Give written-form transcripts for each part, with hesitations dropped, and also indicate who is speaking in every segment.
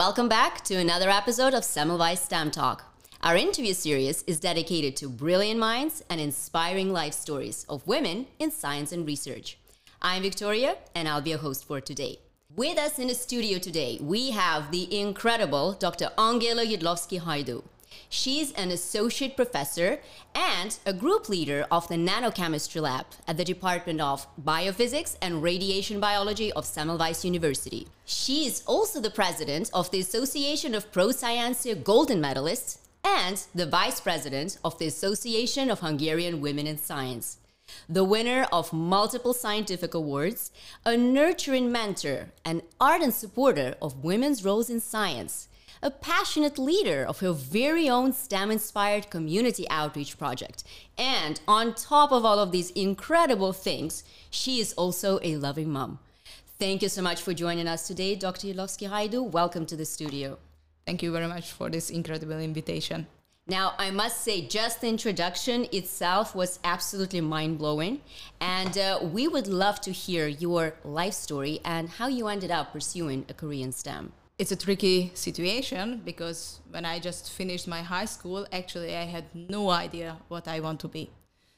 Speaker 1: Welcome back to another episode of Semmelweis STEM Talk. Our interview series is dedicated to brilliant minds and inspiring life stories of women in science and research. I'm Victoria, and I'll be a host for today. With us in the studio today, we have the incredible Dr. Angela Jedlowski-Hajdu. She's an associate professor and a group leader of the Nanochemistry Lab at the Department of Biophysics and Radiation Biology of Semmelweis University. She is also the president of the Association of Pro Scientia Golden Medalists and the vice president of the Association of Hungarian Women in Science. The winner of multiple scientific awards, a nurturing mentor, an ardent supporter of women's roles in science, a passionate leader of her very own STEM-inspired community outreach project. And on top of all of these incredible things, she is also a loving mom. Thank you so much for joining us today, Dr. Jedlowski-Hajdu. Welcome to the studio.
Speaker 2: Thank you very much for this incredible invitation.
Speaker 1: Now, I must say, just the introduction itself was absolutely mind-blowing. And we would love to hear your life story and how you ended up pursuing a career in STEM.
Speaker 2: It's a tricky situation because when I just finished my high school, actually I had no idea what I want to be.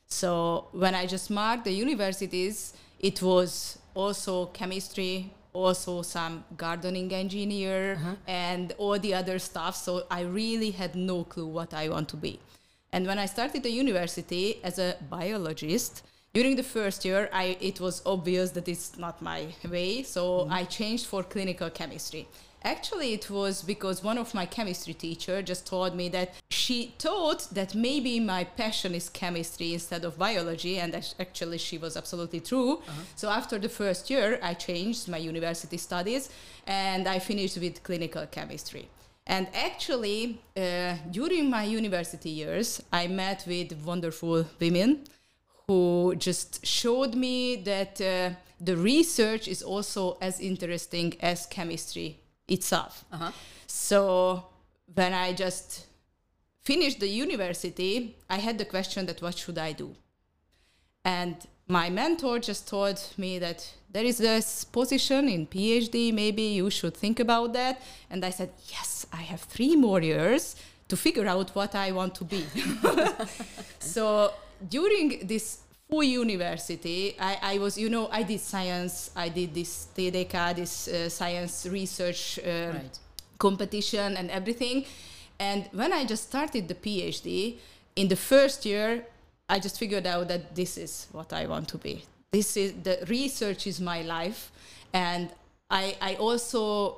Speaker 2: So when I just marked the universities, it was also chemistry, also some gardening engineer and all the other stuff. So I really had no clue what I want to be. And when I started the university as a biologist, during the first year, it was obvious that it's not my way. So I changed for clinical chemistry. Actually, it was because one of my chemistry teachers just told me that she thought that maybe my passion is chemistry instead of biology, and actually she was absolutely true. So after the first year, I changed my university studies, and I finished with clinical chemistry. And actually, during my university years, I met with wonderful women who just showed me that the research is also as interesting as chemistry itself. So when I just finished the university, I had the question that what should I do? And my mentor just told me that there is this position in PhD, maybe you should think about that. And I said, yes, I have 3 more years to figure out what I want to be. So during this full university, I was, I did science, I did this TDK, this science research competition and everything. And when I just started the PhD, in the first year, I just figured out that this is what I want to be. The research is my life. And I also,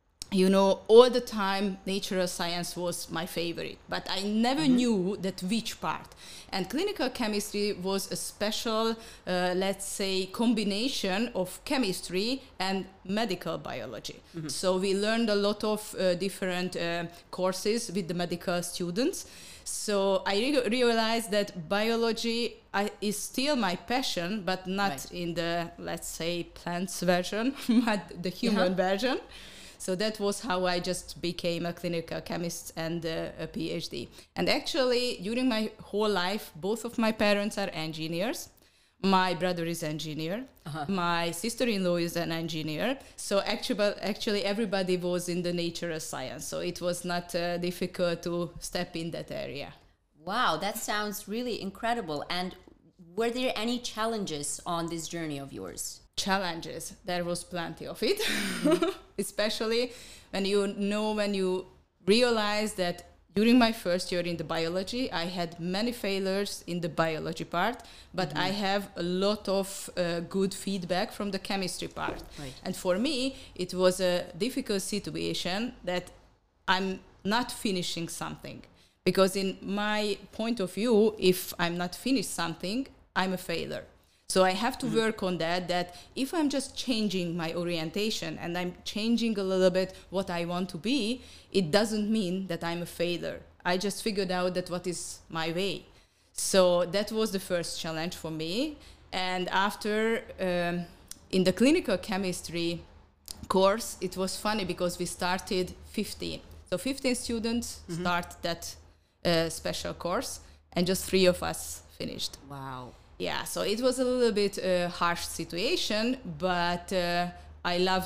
Speaker 2: all the time, natural science was my favorite, but I never knew that which part. And clinical chemistry was a special, let's say, combination of chemistry and medical biology. So we learned a lot of different courses with the medical students. So I realized that biology is still my passion, but not in the, let's say, plants version, but the human version. So that was how I just became a clinical chemist and a PhD. And actually, during my whole life, both of my parents are engineers. My brother is an engineer. My sister-in-law is an engineer. So actually, everybody was in the natural science. So it was not difficult to step in that area.
Speaker 1: Wow, that sounds really incredible. And were there any challenges on this journey of yours?
Speaker 2: Challenges, there was plenty of it, especially when you realize that during my first year in the biology, I had many failures in the biology part, but I have a lot of good feedback from the chemistry part. And for me, it was a difficult situation that I'm not finishing something. Because in my point of view, if I'm not finished something, I'm a failure. So I have to work on that if I'm just changing my orientation and I'm changing a little bit what I want to be, it doesn't mean that I'm a failure. I just figured out that what is my way. So that was the first challenge for me. And after, in the clinical chemistry course, it was funny because we started 15. So 15 students start that special course, and just 3 of us finished.
Speaker 1: Wow.
Speaker 2: Yeah, so it was a little bit harsh situation, but I loved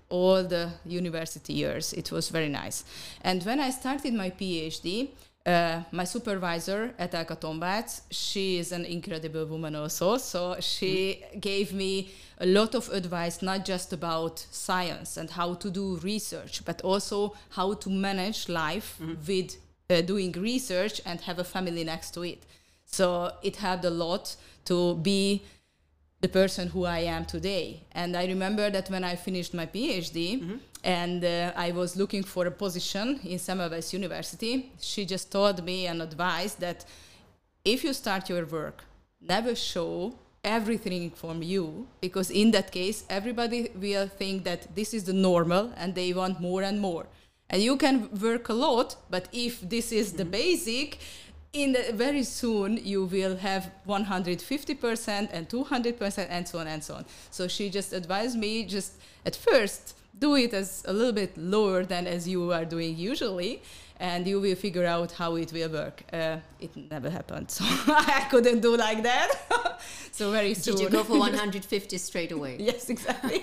Speaker 2: all the university years. It was very nice. And when I started my PhD, my supervisor at Elka Tombác, she is an incredible woman also. So she gave me a lot of advice, not just about science and how to do research, but also how to manage life with doing research and have a family next to it. So it helped a lot to be the person who I am today. And I remember that when I finished my PhD and I was looking for a position in Semmelweis University, she just told me and advised that if you start your work, never show everything from you, because in that case, everybody will think that this is the normal and they want more and more. And you can work a lot, but if this is the basic, very soon you will have 150% and 200% and so on and so on. So she just advised me, just at first do it as a little bit lower than as you are doing usually, and you will figure out how it will work. It never happened, so I couldn't do like that. So very soon.
Speaker 1: Did you go for 150 straight away?
Speaker 2: Yes, exactly.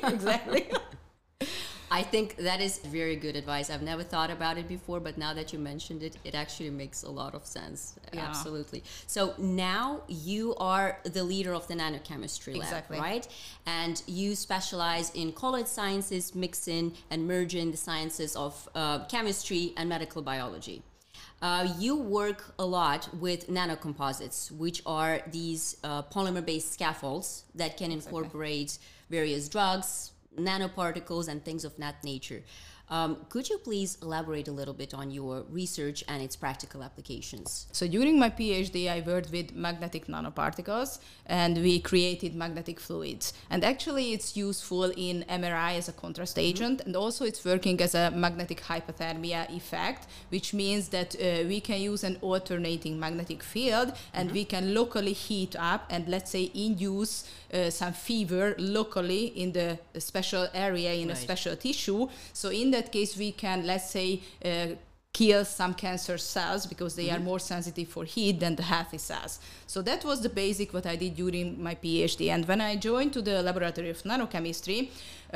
Speaker 1: I think that is very good advice. I've never thought about it before, but now that you mentioned it, it actually makes a lot of sense. Yeah. Absolutely. So now you are the leader of the nanochemistry lab, right? And you specialize in colloid sciences, mixing and merging the sciences of chemistry and medical biology. You work a lot with nanocomposites, which are these polymer-based scaffolds that can incorporate various drugs, nanoparticles, and things of that nature. Could you please elaborate a little bit on your research and its practical applications?
Speaker 2: So during my PhD, I worked with magnetic nanoparticles, and we created magnetic fluids. And actually, it's useful in MRI as a contrast agent, and also it's working as a magnetic hypothermia effect, which means that we can use an alternating magnetic field, and we can locally heat up and, let's say, induce some fever locally in the special area, in a special tissue. So in that case, we can, let's say, kill some cancer cells because they are more sensitive for heat than the healthy cells. So that was the basic what I did during my PhD. And when I joined to the laboratory of nanochemistry,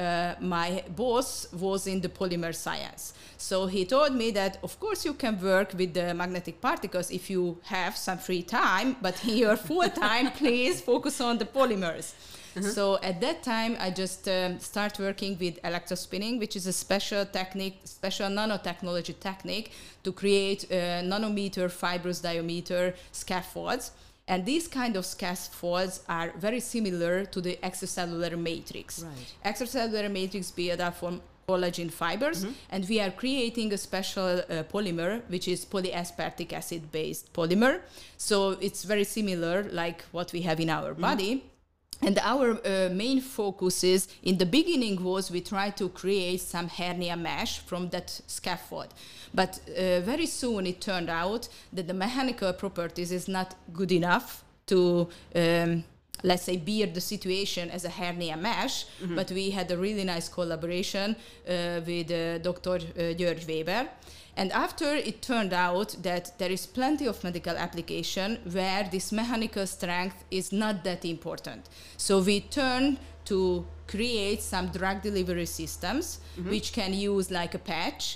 Speaker 2: my boss was in the polymer science. So he told me that, of course, you can work with the magnetic particles if you have some free time, but in your full time, please focus on the polymers. So at that time, I just start working with electrospinning, which is a special technique, special nanotechnology technique to create nanometer fibrous diameter scaffolds. And these kind of scaffolds are very similar to the extracellular matrix. Extracellular matrix build up from collagen fibers, and we are creating a special polymer, which is polyaspartic acid based polymer. So it's very similar like what we have in our body. And our main focus is, in the beginning was we tried to create some hernia mesh from that scaffold. But very soon it turned out that the mechanical properties is not good enough to, let's say, bear the situation as a hernia mesh. But we had a really nice collaboration with Dr. György Weber. And after it turned out that there is plenty of medical application where this mechanical strength is not that important. So we turned to create some drug delivery systems which can use like a patch,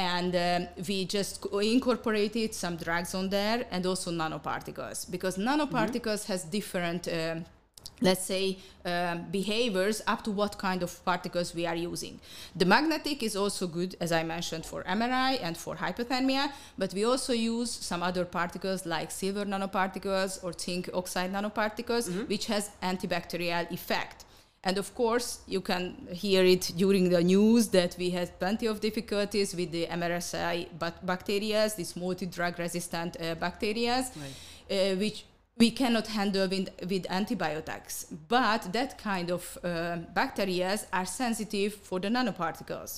Speaker 2: and we just incorporated some drugs on there and also nanoparticles, because nanoparticles has different let's say, behaviors up to what kind of particles we are using. The magnetic is also good, as I mentioned, for MRI and for hypothermia, but we also use some other particles like silver nanoparticles or zinc oxide nanoparticles, which has antibacterial effect. And of course, you can hear it during the news that we had plenty of difficulties with the MRSA bacteria, these multi-drug resistant bacteria, which we cannot handle with antibiotics. But that kind of bacteria are sensitive for the nanoparticles.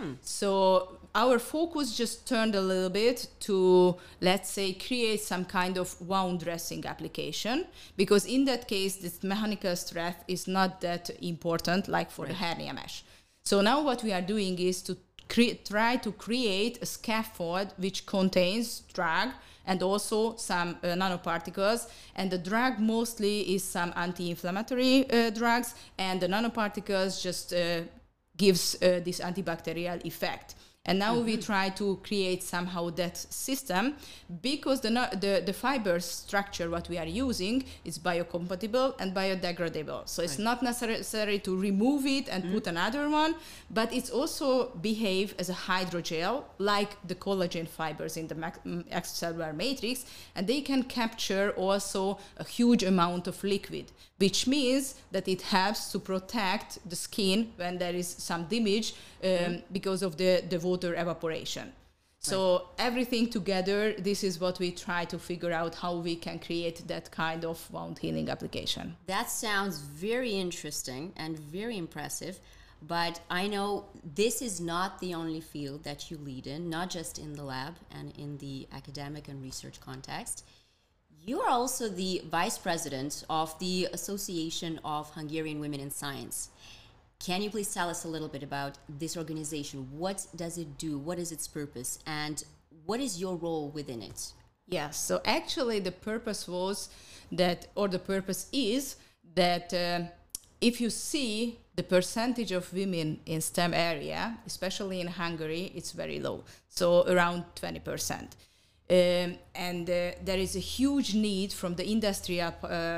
Speaker 2: So our focus just turned a little bit to, let's say, create some kind of wound dressing application, because in that case, this mechanical strength is not that important like for the hernia mesh. So now what we are doing is to try to create a scaffold which contains drug and also some nanoparticles. And the drug mostly is some anti-inflammatory drugs, and the nanoparticles just gives this antibacterial effect. And now we try to create somehow that system, because the fiber structure what we are using is biocompatible and biodegradable. So it's not necessary to remove it and put another one, but it's also behave as a hydrogel like the collagen fibers in the extracellular matrix, and they can capture also a huge amount of liquid, which means that it helps to protect the skin when there is some damage because of the water evaporation. So everything together, this is what we try to figure out how we can create that kind of wound healing application.
Speaker 1: That sounds very interesting and very impressive, but I know this is not the only field that you lead in, not just in the lab and in the academic and research context. You are also the vice president of the Association of Hungarian Women in Science. Can you please tell us a little bit about this organization? What does it do? What is its purpose? And what is your role within it?
Speaker 2: Yes, so actually the purpose was that, or the purpose is that if you see the percentage of women in STEM area, especially in Hungary, it's very low, so around 20%. And there is a huge need from the industrial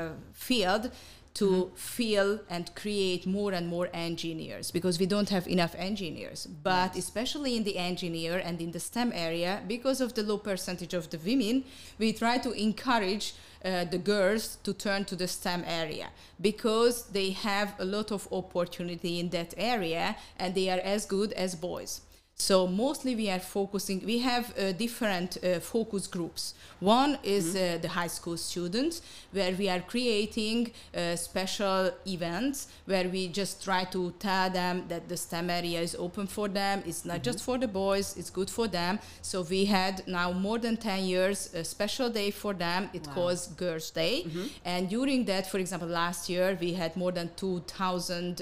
Speaker 2: field to fill and create more and more engineers, because we don't have enough engineers. But especially in the engineer and in the STEM area, because of the low percentage of the women, we try to encourage the girls to turn to the STEM area, because they have a lot of opportunity in that area and they are as good as boys. So mostly we are focusing, we have different focus groups. One is the high school students, where we are creating special events where we just try to tell them that the STEM area is open for them. It's not just for the boys, it's good for them. So we had now more than 10 years a special day for them. It calls Girls' Day. And during that, for example, last year we had more than 2,000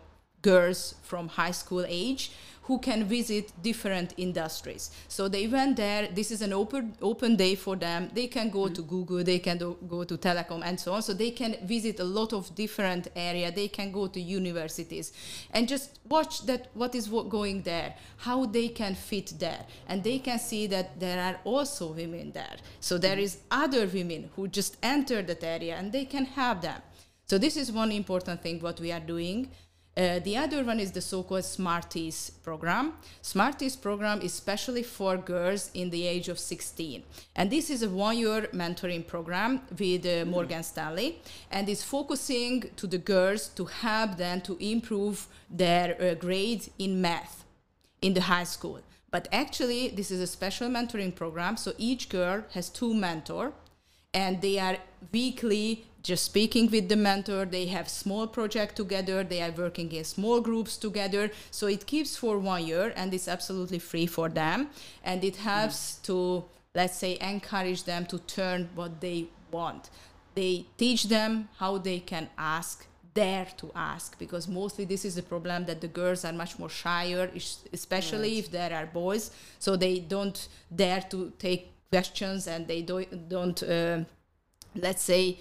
Speaker 2: girls from high school age who can visit different industries. So they went there. This is an open day for them. They can go to Google, they can go to telecom and so on. So they can visit a lot of different areas. They can go to universities and just watch that what is going there, how they can fit there. And they can see that there are also women there. So there is other women who just enter that area and they can help them. So this is one important thing what we are doing. The other one is the so-called Smarties program. Smarties program is especially for girls in the age of 16. And this is a one-year mentoring program with Morgan Stanley, and is focusing to the girls to help them to improve their grades in math in the high school. But actually, this is a special mentoring program, so each girl has 2 mentors, and they are weekly just speaking with the mentor. They have small project together. They are working in small groups together. So it keeps for 1 year, and it's absolutely free for them. And it helps to, let's say, encourage them to turn what they want. They teach them how they can ask, dare to ask, because mostly this is the problem, that the girls are much more shyer, especially if there are boys. So they don't dare to take questions, and they don't let's say,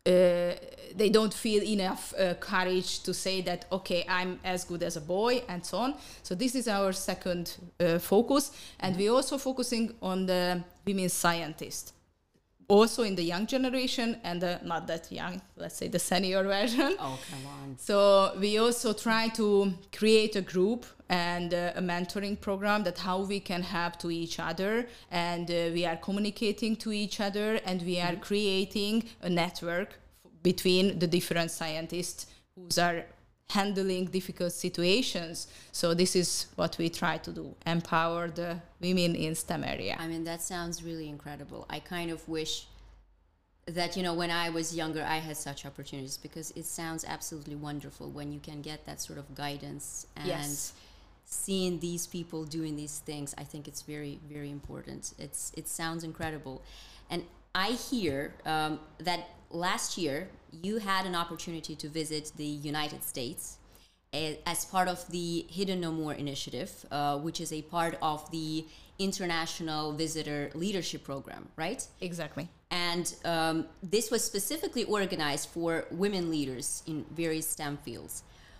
Speaker 2: they don't feel enough courage to say that, okay, I'm as good as a boy, and so on. So this is our second focus. And we're also focusing on the women scientists, also in the young generation and not that young, let's say the senior version.
Speaker 1: Oh, come on.
Speaker 2: So we also try to create a group and a mentoring program, that how we can help to each other, and we are communicating to each other, and we are creating a network between the different scientists who are handling difficult situations. So this is what we try to do, empower the women in STEM area.
Speaker 1: I mean, that sounds really incredible. I kind of wish that, you know, when I was younger, I had such opportunities, because it sounds absolutely wonderful when you can get that sort of guidance and seeing these people doing these things. I think it's very, very important. It sounds incredible. And I hear that last year you had an opportunity to visit the United States as part of the Hidden No More initiative, which is a part of the International Visitor Leadership Program, right?
Speaker 2: Exactly.
Speaker 1: And this was specifically organized for women leaders in various STEM fields.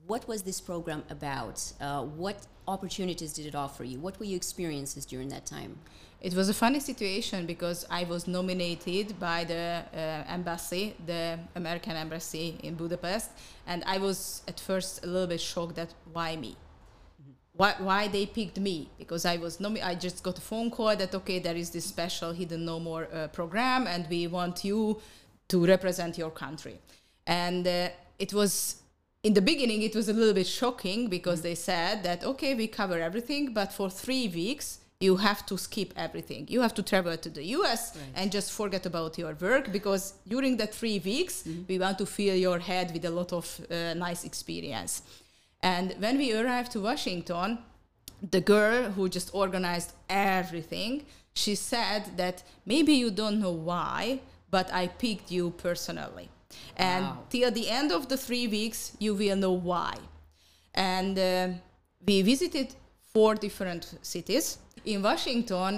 Speaker 1: what was this program about? What opportunities did it offer you? What were your experiences during that time?
Speaker 2: It was a funny situation because I was nominated by the embassy, the American embassy in Budapest, and I was at first a little bit shocked that why me? Why they picked me? Because I just got a phone call that, okay, there is this special Hidden No More program, and we want you to represent your country. And it was, in the beginning, it was a little bit shocking because they said that, okay, we cover everything, but for 3 weeks, you have to skip everything. You have to travel to the US and just forget about your work, because during the 3 weeks, we want to fill your head with a lot of nice experience. And when we arrived to Washington, the girl who just organized everything, she said that maybe you don't know why, but I picked you personally. And till the end of the 3 weeks, you will know why. And we visited 4 different cities. In Washington,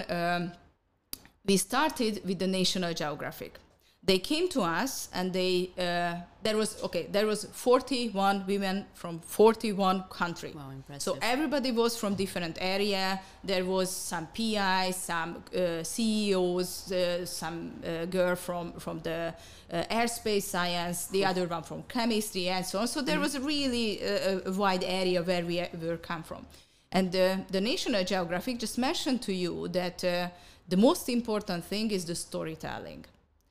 Speaker 2: we started with the National Geographic. They came to us, and there was 41 women from 41 countries.
Speaker 1: Wow, impressive.
Speaker 2: So everybody was from different area. There was some PIs, some CEOs, some girl from the airspace science, the other one from chemistry, and so on. So there was really a wide area where we come from. And the National Geographic just mentioned to you that the most important thing is the storytelling.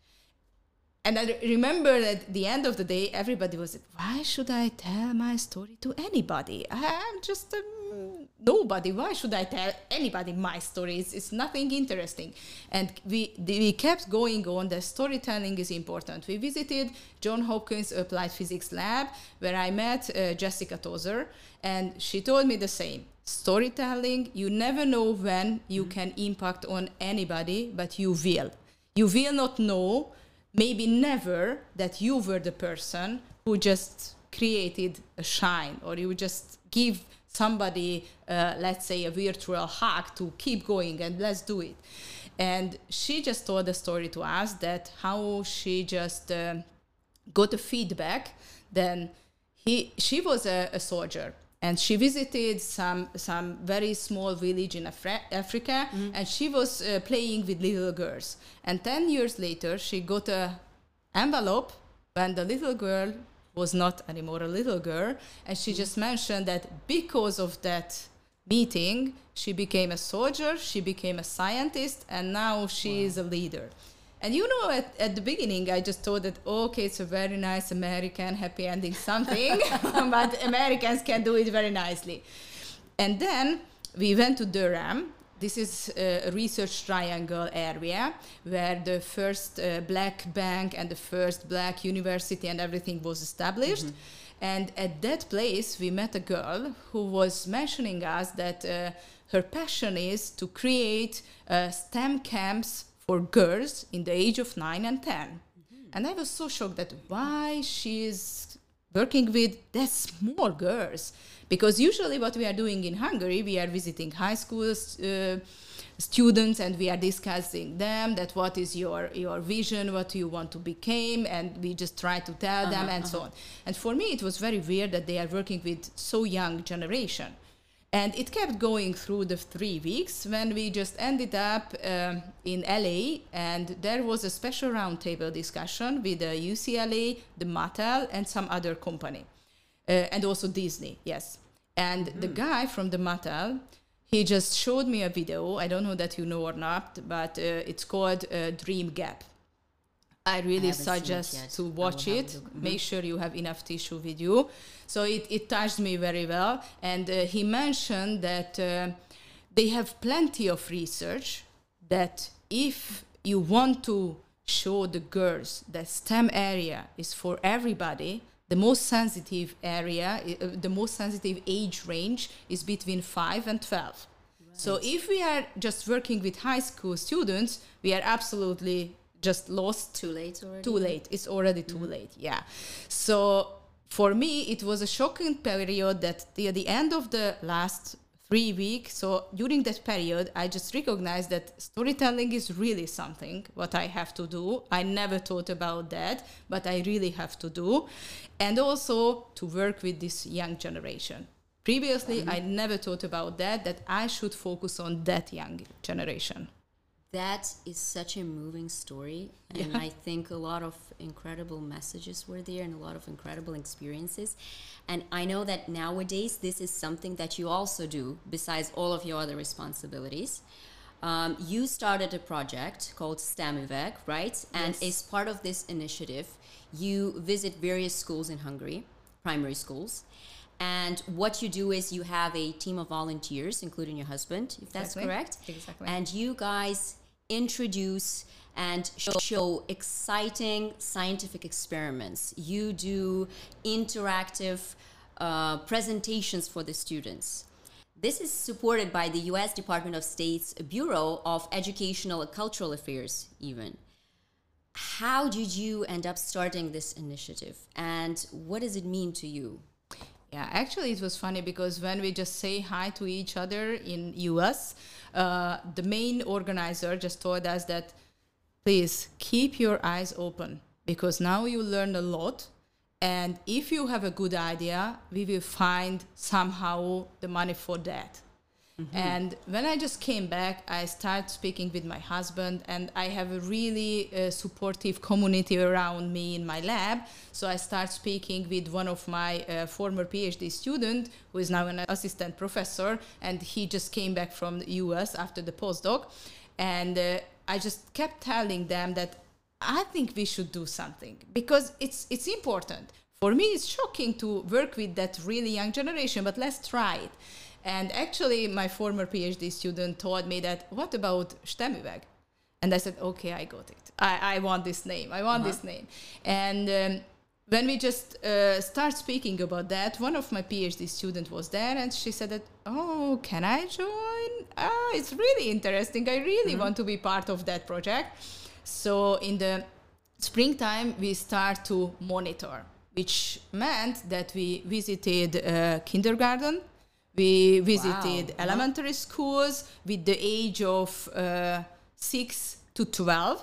Speaker 2: And I remember that at the end of the day, everybody was like, why should I tell my story to anybody? I'm just nobody. Why should I tell anybody my story? It's nothing interesting. And we kept going on. The storytelling is important. We visited Johns Hopkins Applied Physics Lab, where I met Jessica Tozer, and she told me the same. Storytelling, you never know when you can impact on anybody, but you will. You will not know, maybe never, that you were the person who just created a shine, or you just give somebody, let's say, a virtual hug to keep going and let's do it. And she just told the story to us that how she just got a feedback. Then she was a soldier. And she visited some very small village in Africa, and she was playing with little girls. And 10 years later, she got an envelope when the little girl was not anymore a little girl, and she just mentioned that because of that meeting, she became a soldier, she became a scientist, and now she is a leader. And you know, at the beginning, I just thought that, okay, it's a very nice American happy ending something, but Americans can do it very nicely. And then we went to Durham. This is a research triangle area where the first black bank and the first black university and everything was established. And at that place, we met a girl who was mentioning us that her passion is to create STEM camps for girls in the age of 9 and 10. And I was so shocked that why she's working with that small girls. Because usually what we are doing in Hungary, we are visiting high school students, and we are discussing them that what is your vision, what do you want to become, and we just try to tell them and so on. And for me, it was very weird that they are working with so young generation. And it kept going through the 3 weeks when we just ended up in LA, and there was a special roundtable discussion with the UCLA, the Mattel, and some other company. And also Disney, yes. And the guy from the Mattel, he just showed me a video. I don't know that you know or not, but it's called Dream Gap. I really suggest to watch it. Make sure you have enough tissue with you. So it touched me very well. And he mentioned that they have plenty of research that if you want to show the girls that STEM area is for everybody, the most sensitive area, the most sensitive age range is between 5 and 12. Right. So if we are just working with high school students, we are absolutely just lost.
Speaker 1: Too late already?
Speaker 2: Too late. It's already too late, yeah. So for me, it was a shocking period that at the end of the last 3 weeks. So during that period, I just recognized that storytelling is really something what I have to do. I never thought about that, but I really have to do. And also to work with this young generation. Previously, I never thought about that I should focus on that young generation.
Speaker 1: That is such a moving story. And I think a lot of incredible messages were there and a lot of incredible experiences. And I know that nowadays this is something that you also do besides all of your other responsibilities. You started a project called STEMüveg, right? And as part of this initiative, you visit various schools in Hungary, primary schools. And what you do is you have a team of volunteers, including your husband, if that's correct.
Speaker 2: Exactly.
Speaker 1: And you guys introduce and show exciting scientific experiments. You do interactive presentations for the students. This is supported by the U.S. Department of State's Bureau of Educational and Cultural Affairs, even. How did you end up starting this initiative, and what does it mean to you?
Speaker 2: Yeah, actually it was funny because when we just say hi to each other in US, the main organizer just told us that please keep your eyes open because now you learn a lot, and if you have a good idea, we will find somehow the money for that. And when I just came back, I started speaking with my husband, and I have a really supportive community around me in my lab. So I started speaking with one of my former PhD student, who is now an assistant professor, and he just came back from the US after the postdoc. And I just kept telling them that I think we should do something because it's important. For me, it's shocking to work with that really young generation, but let's try it. And actually, my former PhD student told me that, what about STEMüveg? And I said, okay, I got it. I want this name. I want this name. And when we just start speaking about that, one of my PhD students was there, and she said that, oh, can I join? It's really interesting. I really want to be part of that project. So in the springtime, we start to monitor, which meant that we visited kindergarten. We visited elementary schools with the age of 6 to 12.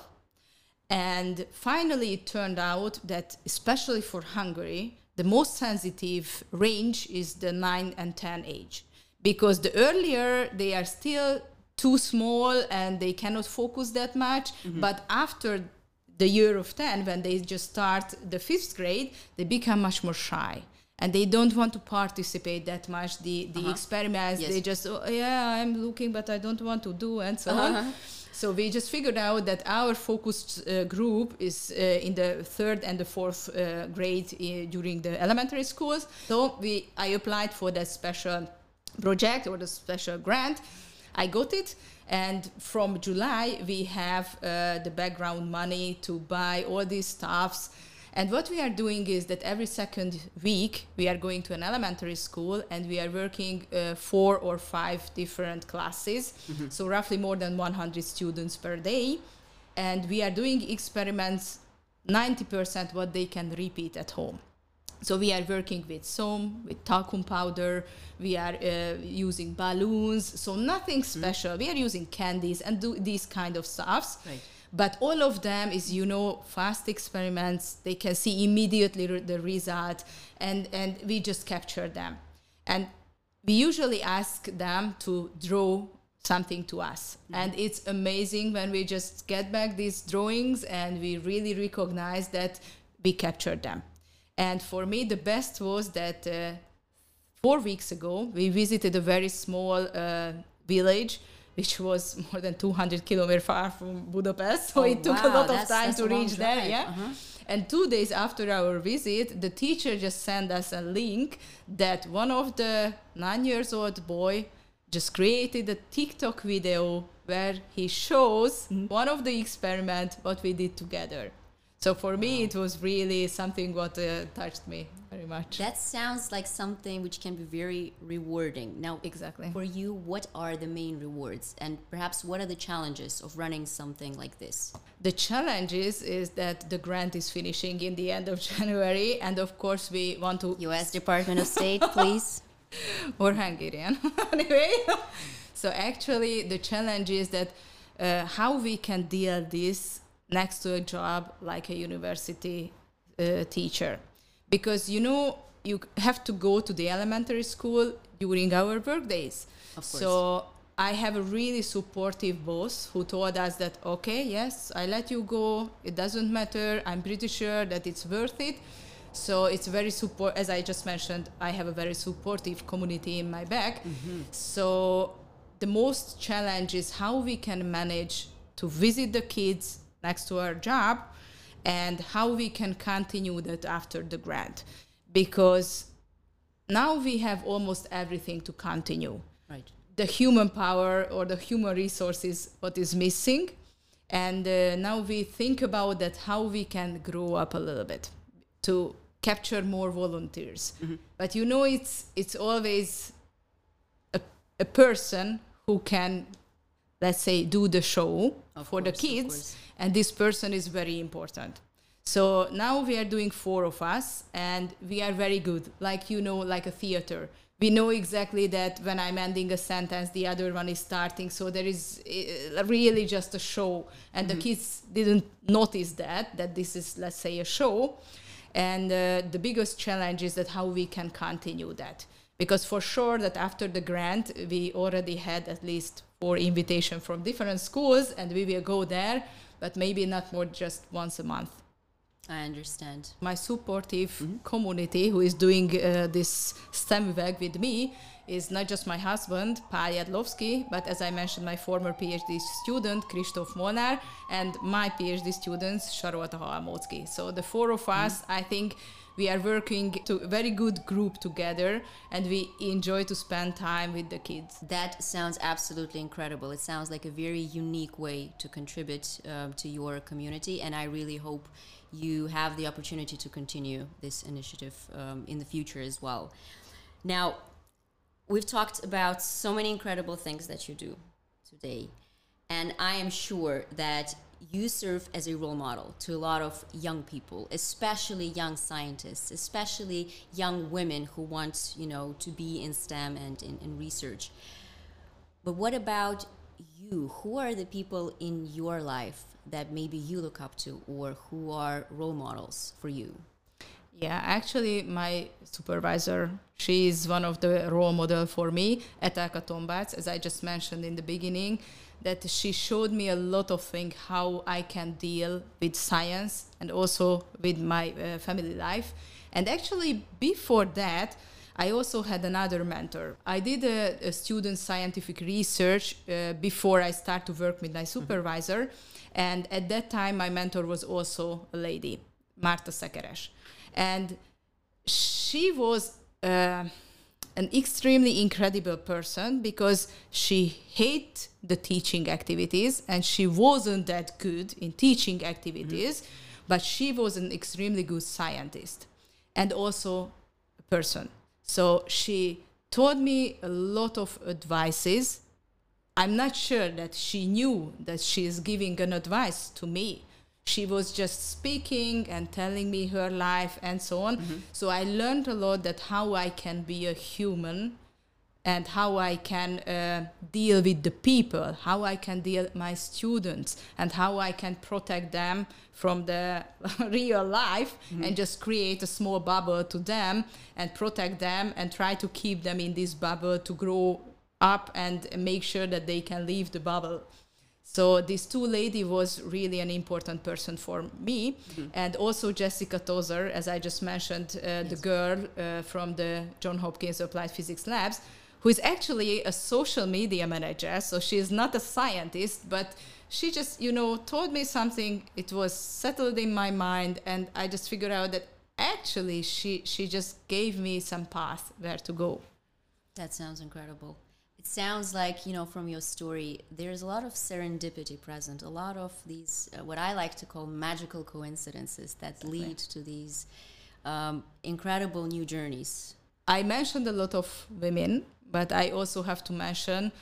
Speaker 2: And finally, it turned out that, especially for Hungary, the most sensitive range is the 9 and 10 age. Because the earlier, they are still too small and they cannot focus that much. But after the year of 10, when they just start the 5th grade, they become much more shy. And they don't want to participate that much. The experiments, they just, I'm looking, but I don't want to do, and so on. So we just figured out that our focused group is in the 3rd and the 4th grade during the elementary schools. So I applied for that special project or the special grant. I got it. And from July, we have the background money to buy all these stuffs. And what we are doing is that every second week, we are going to an elementary school and we are working 4 or 5 different classes. So roughly more than 100 students per day. And we are doing experiments, 90% what they can repeat at home. So we are working with soam, with talcum powder. We are using balloons. So nothing special. We are using candies and do these kind of stuffs.
Speaker 1: Right.
Speaker 2: But all of them is, fast experiments. They can see immediately the result, and we just capture them. And we usually ask them to draw something to us. And it's amazing when we just get back these drawings and we really recognize that we captured them. And for me, the best was that 4 weeks ago, we visited a very small village which was more than 200 kilometers far from Budapest. So it took a lot of time to reach there. Yeah. And 2 days after our visit, the teacher just sent us a link that one of the 9-year-old boy just created a TikTok video where he shows one of the experiments, what we did together. So for me, it was really something what touched me very much.
Speaker 1: That sounds like something which can be very rewarding. Now,
Speaker 2: exactly.
Speaker 1: For you, what are the main rewards? And perhaps what are the challenges of running something like this?
Speaker 2: The challenges is that the grant is finishing in the end of January. And of course, we want to...
Speaker 1: U.S. Department of State, please.
Speaker 2: or Hungarian. Anyway, so actually the challenge is that how we can deal this next to a job like a university teacher. Because, you have to go to the elementary school during our work days.
Speaker 1: Of course.
Speaker 2: So I have a really supportive boss who told us that, okay, yes, I let you go. It doesn't matter. I'm pretty sure that it's worth it. So it's very as I just mentioned, I have a very supportive community in my back. Mm-hmm. So the most challenge is how we can manage to visit the kids next to our job and how we can continue that after the grad. Because now we have almost everything to continue.
Speaker 1: Right.
Speaker 2: The human power or the human resources, what is missing. And now we think about that, how we can grow up a little bit to capture more volunteers. Mm-hmm. But it's always a person who can, let's say, do the show for the kids. And this person is very important. So now we are doing 4 of us, and we are very good, like a theater. We know exactly that when I'm ending a sentence, the other one is starting. So there is really just a show. And the kids didn't notice that this is, let's say, a show. And the biggest challenge is that how we can continue that. Because for sure that after the grant, we already had at least 4 invitations from different schools, and we will go there, but maybe not more, just once a month.
Speaker 1: I understand.
Speaker 2: My supportive community who is doing this STEM work with me is not just my husband, Pál Jadlovsky, but as I mentioned, my former PhD student, Kristóf Molnár, and my PhD students, Sarolta Halmóczky. So the 4 of us, I think we are working to a very good group together, and we enjoy to spend time with the kids.
Speaker 1: That sounds absolutely incredible. It sounds like a very unique way to contribute to your community, and I really hope you have the opportunity to continue this initiative in the future as well. Now, we've talked about so many incredible things that you do today, and I am sure that you serve as a role model to a lot of young people, especially young scientists, especially young women who want, to be in STEM and in research. But what about you? Who are the people in your life that maybe you look up to, or who are role models for you?
Speaker 2: Yeah, actually, my supervisor, she is one of the role model for me, Etelka Tombác, as I just mentioned in the beginning, that she showed me a lot of things, how I can deal with science and also with my family life. And actually, before that, I also had another mentor. I did a student scientific research before I started to work with my supervisor. And at that time, my mentor was also a lady, Marta Szekeres. And she was an extremely incredible person because she hated the teaching activities and she wasn't that good in teaching activities, but she was an extremely good scientist and also a person. So she taught me a lot of advices. I'm not sure that she knew that she is giving an advice to me. She was just speaking and telling me her life and so on. So I learned a lot that how I can be a human and how I can deal with the people, how I can deal with my students and how I can protect them from the real life and just create a small bubble to them and protect them and try to keep them in this bubble to grow up and make sure that they can leave the bubble. So this 2 lady was really an important person for me. And also Jessica Tozer, as I just mentioned, the girl from the Johns Hopkins Applied Physics Labs, who is actually a social media manager. So she is not a scientist, but she just, told me something. It was settled in my mind. And I just figured out that actually she just gave me some path where to go.
Speaker 1: That sounds incredible. It sounds like, from your story, there's a lot of serendipity present, a lot of these, what I like to call magical coincidences that lead to these incredible new journeys.
Speaker 2: I mentioned a lot of women, but I also have to mention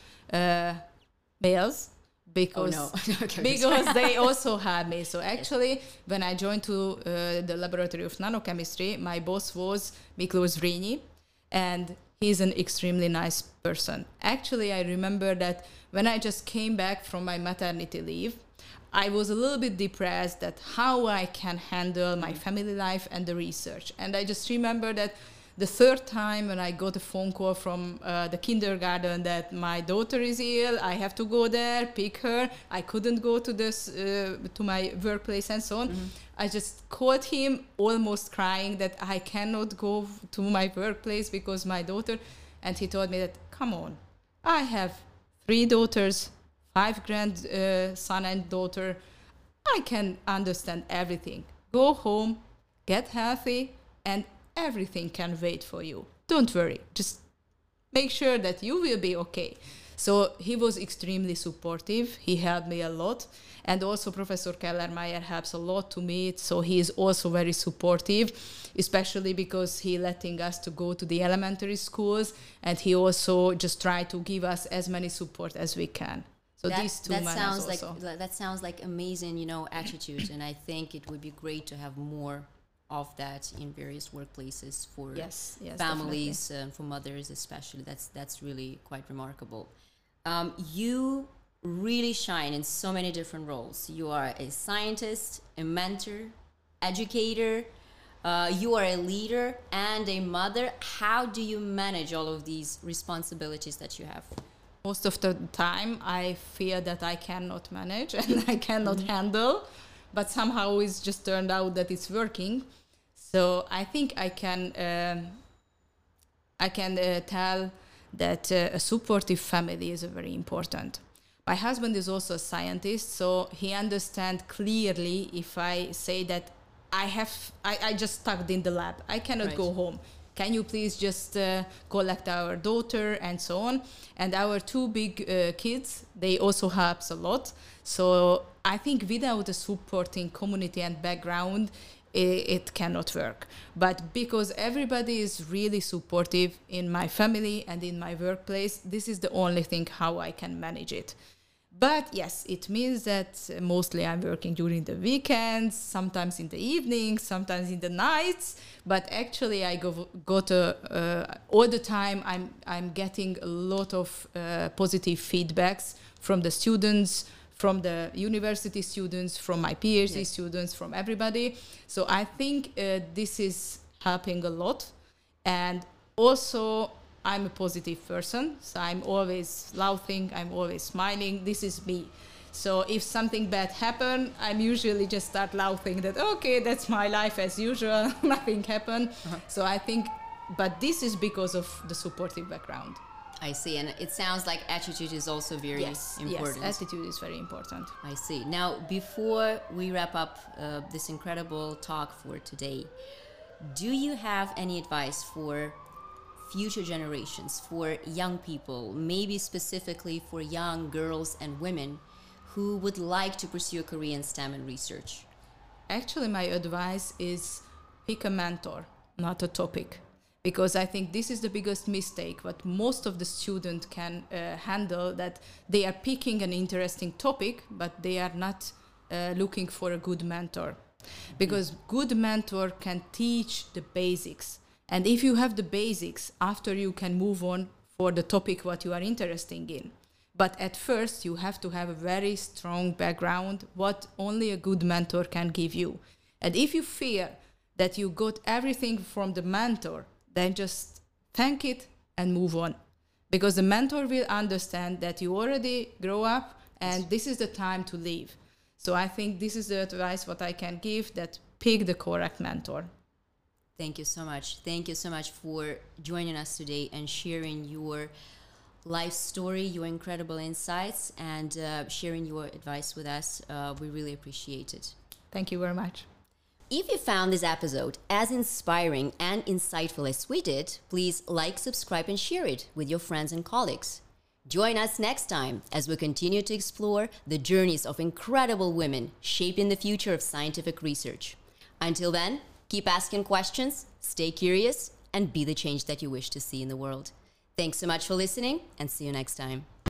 Speaker 2: males because, because they also had me. So actually, when I joined to the Laboratory of Nanochemistry, my boss was Miklós Zrínyi, and he's an extremely nice person. Actually, I remember that when I just came back from my maternity leave, I was a little bit depressed that how I can handle my family life and the research. And I just remember that the third time when I got a phone call from the kindergarten that my daughter is ill, I have to go there, pick her. I couldn't go to this to my workplace and so on. I just called him almost crying that I cannot go to my workplace because my daughter, and he told me that, come on, I have 3 daughters, 5 grandson and daughter. I can understand everything. Go home, get healthy, and everything can wait for you. Don't worry. Just make sure that you will be okay. So he was extremely supportive. He helped me a lot. And also Professor Kellermeyer helps a lot to me. So he is also very supportive, especially because he letting us to go to the elementary schools. And he also just try to give us as many support as we can. So these two
Speaker 1: sounds that sounds like amazing, attitude. And I think it would be great to have more of that in various workplaces for families, for mothers especially. That's really quite remarkable. You really shine in so many different roles. You are a scientist, a mentor, educator, you are a leader and a mother. How do you manage all of these responsibilities that you have?
Speaker 2: Most of the time I feel that I cannot manage and I cannot handle, but somehow it's just turned out that it's working. So I think I can tell that a supportive family is very important. My husband is also a scientist, so he understands clearly if I say that I just stuck in the lab. I cannot go home. Can you please just collect our daughter and so on? And our 2 big kids, they also help a lot. So I think without a supporting community and background, it cannot work. But because everybody is really supportive in my family and in my workplace, this is the only thing how I can manage it. But yes, it means that mostly I'm working during the weekends, sometimes in the evenings, sometimes in the nights. But actually, I go to all the time. I'm getting a lot of positive feedbacks from the students, from the university students, from my PhD students, from everybody. So I think this is helping a lot. And also, I'm a positive person, so I'm always laughing, I'm always smiling. This is me. So if something bad happens, I'm usually just start laughing that, okay, that's my life as usual, nothing happened. So I think, but this is because of the supportive background.
Speaker 1: I see, and it sounds like attitude is also very important.
Speaker 2: Yes, attitude is very important.
Speaker 1: I see. Now, before we wrap up this incredible talk for today, do you have any advice for future generations, for young people, maybe specifically for young girls and women who would like to pursue a career in STEM and research?
Speaker 2: Actually, my advice is pick a mentor, not a topic. Because I think this is the biggest mistake what most of the students can handle, that they are picking an interesting topic, but they are not looking for a good mentor. Because good mentor can teach the basics. And if you have the basics, after you can move on for the topic what you are interested in. But at first, you have to have a very strong background, what only a good mentor can give you. And if you feel that you got everything from the mentor, then just thank it and move on. Because the mentor will understand that you already grow up and this is the time to leave. So I think this is the advice what I can give, that pick the correct mentor.
Speaker 1: Thank you so much. Thank you so much for joining us today and sharing your life story, your incredible insights, and sharing your advice with us. We really appreciate it.
Speaker 2: Thank you very much.
Speaker 1: If you found this episode as inspiring and insightful as we did, please like, subscribe, and share it with your friends and colleagues. Join us next time as we continue to explore the journeys of incredible women shaping the future of scientific research. Until then, keep asking questions, stay curious, and be the change that you wish to see in the world. Thanks so much for listening, and see you next time.